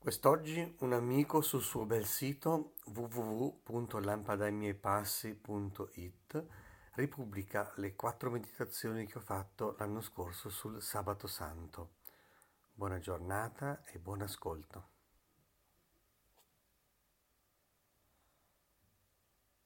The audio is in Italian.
Quest'oggi un amico sul suo bel sito www.lampadamiepassi.it ripubblica le 4 meditazioni che ho fatto l'anno scorso sul Sabato Santo. Buona giornata e buon ascolto.